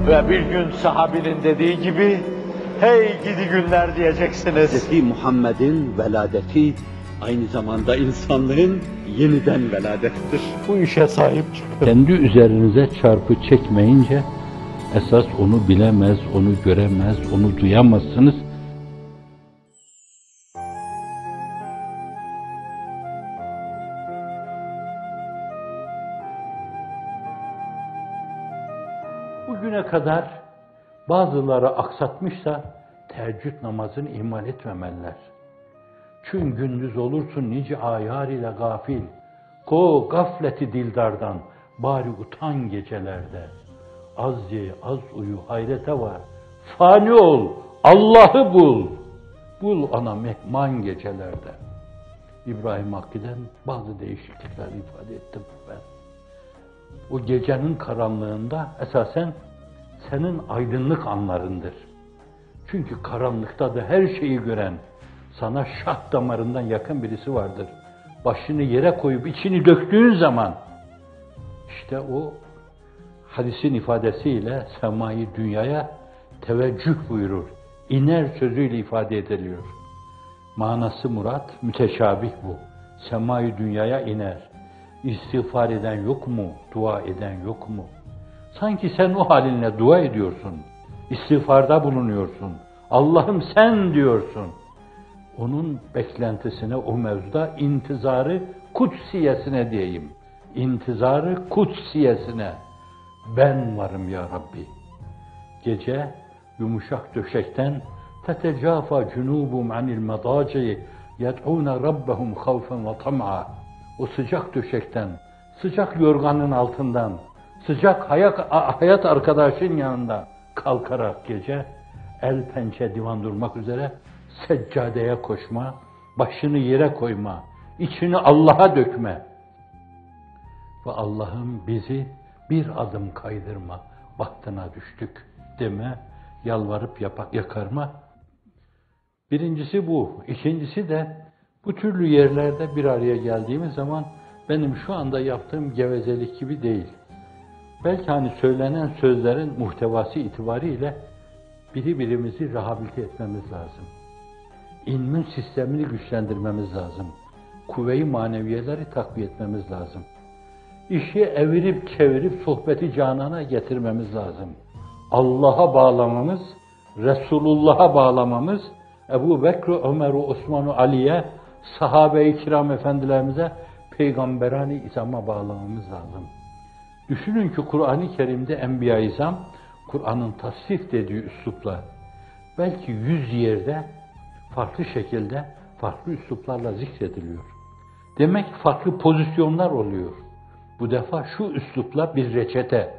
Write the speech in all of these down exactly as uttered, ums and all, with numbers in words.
Ve bir gün sahabinin dediği gibi, hey gidi günler diyeceksiniz. Hazreti Muhammed'in veladeti aynı zamanda insanlığın yeniden veladettir. Bu işe sahip çıkın. Kendi üzerinize çarpı çekmeyince, esas onu bilemez, onu göremez, onu duyamazsınız. Bugüne kadar bazıları aksatmışsa teheccüd namazını ihmal etmemeliler. Çünkü gündüz olursun nice ayar ile gafil. Ko gafleti dildardan, bari utan gecelerde. Az ye, az uyu, hayrete var. Fani ol, Allah'ı bul. Bul ana mehman gecelerde. İbrahim Hakkı'dan bazı değişiklikler ifade ettim ben. O gecenin karanlığında esasen senin aydınlık anlarındır. Çünkü karanlıkta da her şeyi gören, sana şah damarından yakın birisi vardır. Başını yere koyup içini döktüğün zaman, işte o hadisin ifadesiyle semayı dünyaya teveccüh buyurur. İner sözüyle ifade ediliyor. Manası murat, müteşabih bu. Semayı dünyaya iner. İstiğfar eden yok mu? Dua eden yok mu? Sanki sen o halinle dua ediyorsun. İstiğfarda bulunuyorsun. Allah'ım sen diyorsun. Onun beklentisine, o mevzuda intizarı kutsiyesine diyeyim. İntizarı kutsiyesine. Ben varım ya Rabbi. Gece yumuşak döşekten tetecafa cunubum anil madaci yed'ûne rabbehum havfen ve tam'a. O sıcak döşekten, sıcak yorganın altından, sıcak hayat, hayat arkadaşın yanında kalkarak gece el pençe divan durmak üzere seccadeye koşma, başını yere koyma, içini Allah'a dökme. Ve Allah'ım bizi bir adım kaydırma, bahtına düştük deme, yalvarıp yapak, yakarma. Birincisi bu. İkincisi de bu türlü yerlerde bir araya geldiğimiz zaman benim şu anda yaptığım gevezelik gibi değil. Belki hani söylenen sözlerin muhtevası itibariyle birbirimizi rehabilite etmemiz lazım. İlmin sistemini güçlendirmemiz lazım. Kuvve-i maneviyeleri takviye etmemiz lazım. İşi evirip çevirip sohbeti canana getirmemiz lazım. Allah'a bağlamamız, Resulullah'a bağlamamız, Ebu Bekr, Ömer, Osman, Ali'ye, sahabe-i kiram efendilerimize, peygamberani izama bağlamamız lazım. Düşünün ki Kur'an-ı Kerim'de Enbiya-i İzam, Kur'an'ın tasnif dediği üslupla, belki yüz yerde farklı şekilde, farklı üsluplarla zikrediliyor. Demek ki farklı pozisyonlar oluyor. Bu defa şu üslupla bir reçete.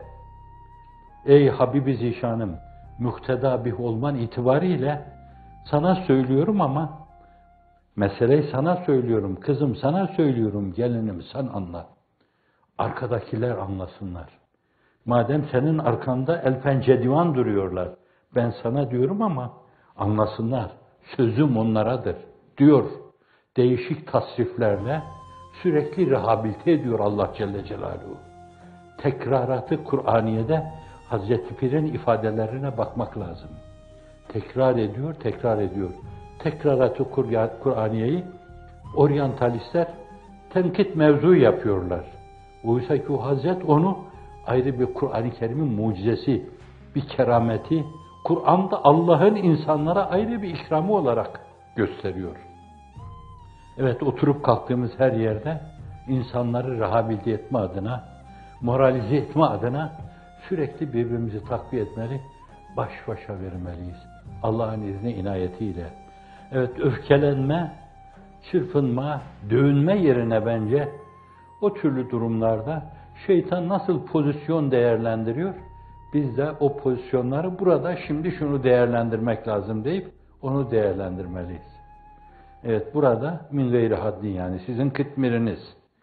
Ey Habibi Zişanım, muhteda bih olman itibariyle sana söylüyorum ama meseleyi sana söylüyorum, kızım sana söylüyorum, gelinim sen anla. Arkadakiler anlasınlar. Madem senin arkanda el pençe divan duruyorlar, ben sana diyorum ama anlasınlar. Sözüm onlaradır diyor. Değişik tasriflerle sürekli rehabilite ediyor Allah Celle Celaluhu. Tekraratı Kur'aniye'de Hazreti Pir'in ifadelerine bakmak lazım. Tekrar ediyor, tekrar ediyor. Tekraratı Kur'aniye'yi oryantalistler tenkit mevzu yapıyorlar. Oysa ki o Hazret onu ayrı bir Kur'an-ı Kerim'in mucizesi, bir kerameti, Kur'an'da Allah'ın insanlara ayrı bir ikramı olarak gösteriyor. Evet, oturup kalktığımız her yerde insanları rehabilite etme adına, moralize etme adına sürekli birbirimizi takviye etmeli, baş başa vermeliyiz. Allah'ın izni inayetiyle. Evet, öfkelenme, çırpınma, dövünme yerine bence o türlü durumlarda şeytan nasıl pozisyon değerlendiriyor? Biz de o pozisyonları burada şimdi şunu değerlendirmek lazım deyip onu değerlendirmeliyiz. Evet, burada min gayri haddin, yani sizin kıtmiriniz.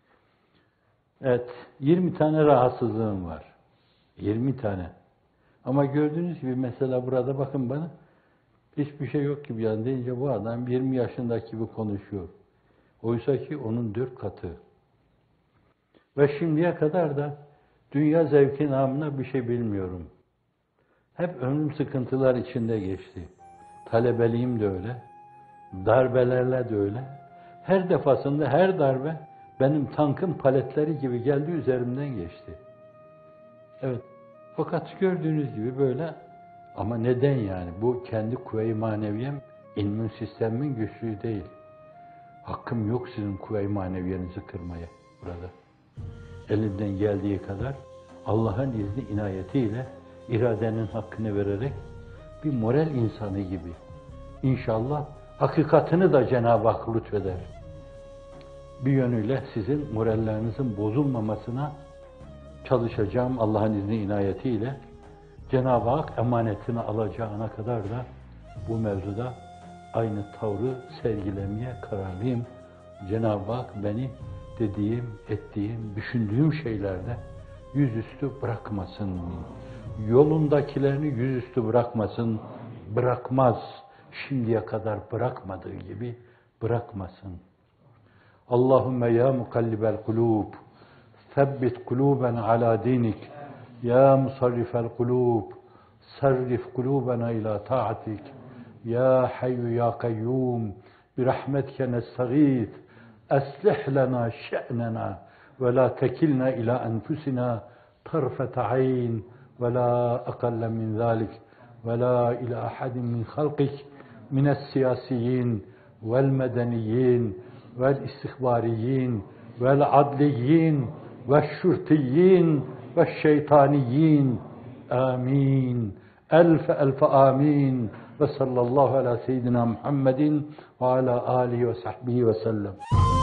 Evet, yirmi tane rahatsızlığım var. yirmi tane. Ama gördüğünüz gibi mesela burada bakın bana, hiçbir şey yok gibi yani deyince bu adam yirmi yaşındaki gibi konuşuyor. Oysa ki onun dört katı. Ve şimdiye kadar da dünya zevki namına bir şey bilmiyorum. Hep ömrüm sıkıntılar içinde geçti. Talebeliğim de öyle, darbelerle de öyle. Her defasında her darbe benim tankın paletleri gibi geldi, üzerimden geçti. Evet, fakat gördüğünüz gibi böyle. Ama neden yani? Bu kendi kuvve-i maneviyem, immün sistemin güçlüğü değil. Hakkım yok sizin kuvve-i maneviyenizi kırmaya burada. Elinden geldiği kadar Allah'ın izni inayetiyle iradenin hakkını vererek bir moral insanı gibi İnşallah hakikatini de Cenab-ı Hak lütfeder. Bir yönüyle sizin morallerinizin bozulmamasına çalışacağım Allah'ın izni inayetiyle. Cenab-ı Hak emanetini alacağına kadar da bu mevzuda aynı tavrı sergilemeye kararlıyım. Cenab-ı Hak beni dediğim, ettiğim, düşündüğüm şeylerde yüzüstü bırakmasın. Yolundakilerini yüzüstü bırakmasın, bırakmaz. Şimdiye kadar bırakmadığı gibi bırakmasın. Allahümme ya mukallibel kulub, sebbit kuluben ala dinik. Ya musarrifel kulub, sarrif kulubena ila ta'atik. Ya hayyu ya kayyum, birahmetke nestağith. Eslih lana şe'nena ve la tekilna ila enfusina tarfete ayn ve la akalle min zalik ve la ila ahadin min halqik min es-siyasiyin vel medeniyin vel istihbariyin vel adliyin ve şurtiyin ve şeytaniyin. Amin. Elfe elfe amin. Ve sallallahu ala seyyidina Muhammedin ve ala alihi ve sahbihi ve sellem.